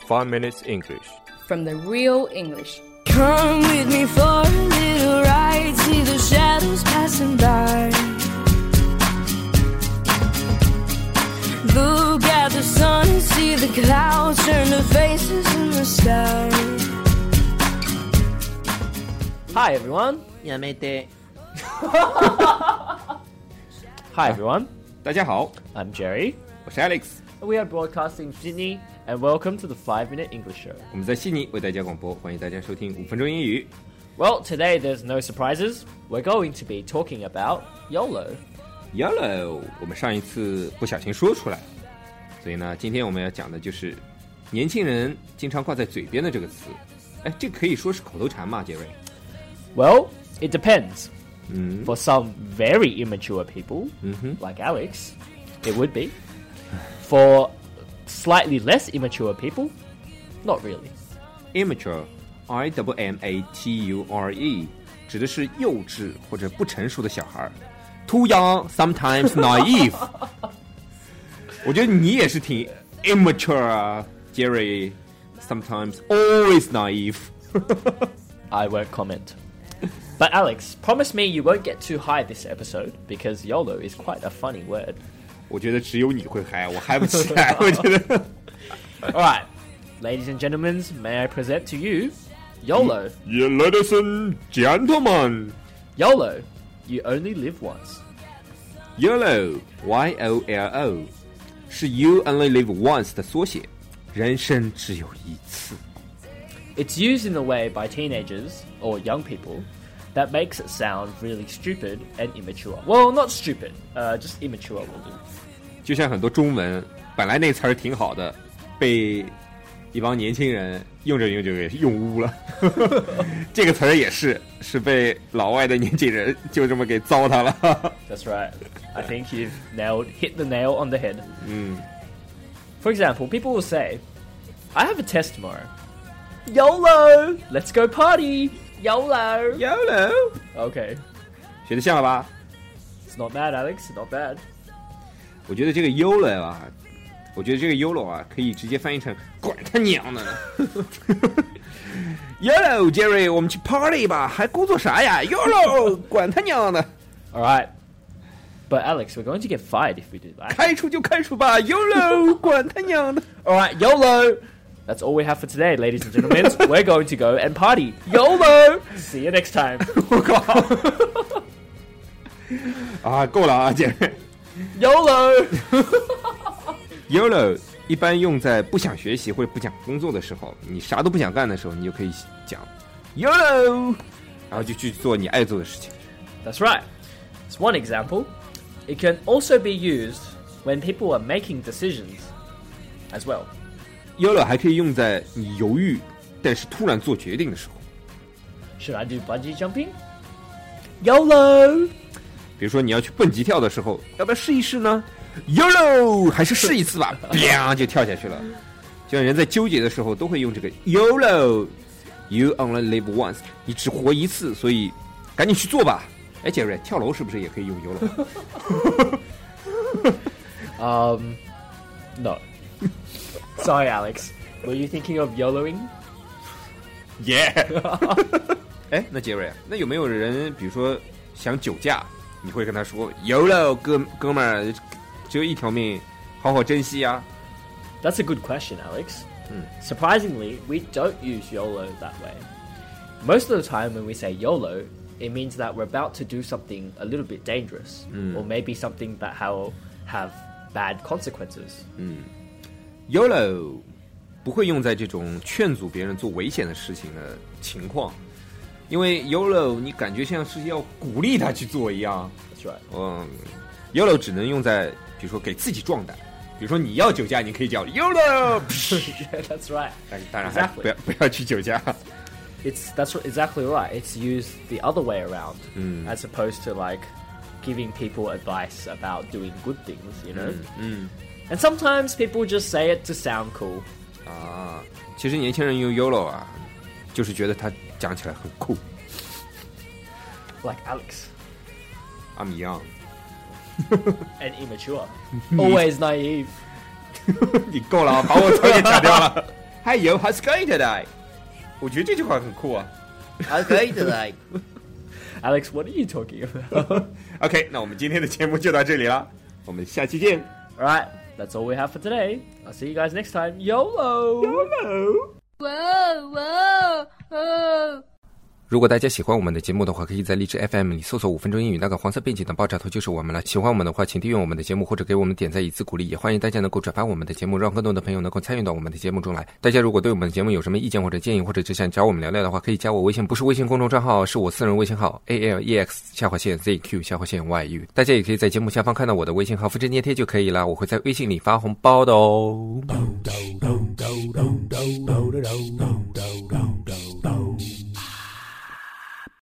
5 Minutes English. From the real English. Come with me for a little ride, see the shadows passing by. Look at the sun and see the clouds turn to faces in the sky. Hi everyone. Hi everyone. 大家好， I'm Jerry. 我是 Alex， We are broadcasting from Sydney, and welcome to the 5-Minute English Show. 我们在悉尼为大家广播，欢迎大家收听5分钟英语。 Well, today there's no surprises. We're going to be talking about YOLO. YOLO， 我们上一次不小心说出来，所以呢，今天我们要讲的就是年轻人经常挂在嘴边的这个词。哎，这可以说是口头禅吗，杰瑞？ Well, it depends. For some very immature people, like Alex, it would be. For slightly less immature people, not really. Immature, I-M-M-A-T-U-R-E， 指的是幼稚或者不成熟的小孩。Too young, sometimes naive. 我觉得你也是挺 immature 啊 Jerry, sometimes always naive. I won't comment. But Alex, promise me you won't get too high this episode, because YOLO is quite a funny word. 我觉得只有你会嗨，我嗨不起来。我觉得。 Alright, ladies and gentlemen, may I present to you YOLO. Yeah, ladies and gentlemen. YOLO, you only live once. YOLO, Y-O-L-O, 是 You Only Live Once 的缩写，人生只有一次。 It's used in a way by teenagers, or young people, that makes it sound really stupid and immature. Well, not stupid, just immature will do. 就像很多中文本来那词儿挺好的，被一帮年轻人用着用着给用污了。这个词儿也是被老外的年轻人就这么给糟蹋了。 That's right. I think you've hit the nail on the head. For example, people will say, I have a test tomorrow. YOLO! Let's go party! YOLO! YOLO, Okay. 学得像了吧？ It's not bad, Alex. Not bad. 我觉得这个 YOLO 啊，可以直接翻译成管他娘的呢。YOLO Jerry， 我们去 party 吧，还工作啥呀 ？YOLO， 管他娘的。 Alright. But Alex, we're going to get fired if we do that. 开除就开除吧 ，YOLO， 管他娘的。 Alright, YOLO! That's all we have for today, ladies and gentlemen. We're going to go and party. YOLO! See you next time. 我靠！啊，够了啊，姐妹。 YOLO! YOLO 一般用在不想学习或者不想工作的时候，你啥都不想干的时候，你就可以讲 YOLO， 然后就去做你爱做的事情。 That's right. It's one example. It can also be used when people are making decisions as well. YOLO 还可以用在你犹豫但是突然做决定的时候。 Should I do bungee jumping? YOLO! 比如说你要去蹦极跳的时候，要不要试一试呢 ？YOLO 还是试一次吧，啪就跳下去了。就像人在纠结的时候都会用这个 YOLO。You only live once， 你只活一次，所以赶紧去做吧。哎，杰瑞，跳楼是不是也可以用 YOLO？ No. Sorry, Alex. Were you thinking of YOLOing? Yeah 哎，那杰瑞，那有没有人比如说想酒驾，你会跟他说 YOLO 哥们儿，只有一条命，好好珍惜啊。 That's a good question, Alex. Surprisingly, we don't use YOLO that way. Most of the time when we say YOLO, it means that we're about to do something a little bit dangerous, or maybe something that will have bad consequences. YOLO 不会用在这种劝阻别人做危险的事情的情况，因为 YOLO 你感觉像是要鼓励他去做一样。 That's right. YOLO 只能用在比如说给自己壮胆，比如说你要酒驾，你可以叫 YOLO。 Yeah, that's right. 当然还不要去酒驾。 That's exactly right. It's used the other way around, as opposed to like giving people advice about doing good things, you know? And sometimes people just say it to sound cool. 啊，其实年轻人用 YOLO 啊，就是觉得他讲起来很酷。 Like Alex. I'm young. And immature. Always naive. 你够了啊，把我词给掐掉了。 Hi yo, how's it going today? 我觉得这句话很酷啊。 How's it going today? Alex, what are you talking about? OK， 那我们今天的节目就到这里了，我们下期见。 Alright, that's all we have for today. I'll see you guys next time. YOLO! YOLO! Whoa, whoa, whoa. 如果大家喜欢我们的节目的话，可以在荔枝 FM 里搜索5分钟英语，那个黄色背景的爆炸头就是我们了。喜欢我们的话，请订阅我们的节目或者给我们点赞以资鼓励，也欢迎大家能够转发我们的节目，让更多的朋友能够参与到我们的节目中来。大家如果对我们的节目有什么意见或者建议，或者只想找我们聊聊的话，可以加我微信，不是微信公众账号，是我私人微信号 ALEX_ZQ_YU。大家也可以在节目下方看到我的微信号，复制粘贴就可以了，我会在微信里发红包的哦。